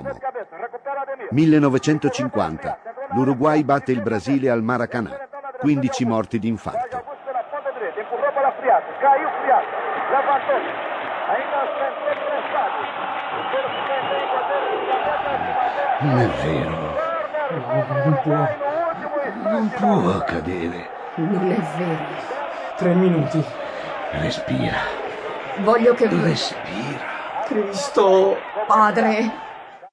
uomo. 1950. L'Uruguay batte il Brasile al Maracanã. 15 morti di infarto. Non è vero. Non può accadere. Non è vero. 3 minuti. Respira. Voglio che... Respira. Cristo. Padre...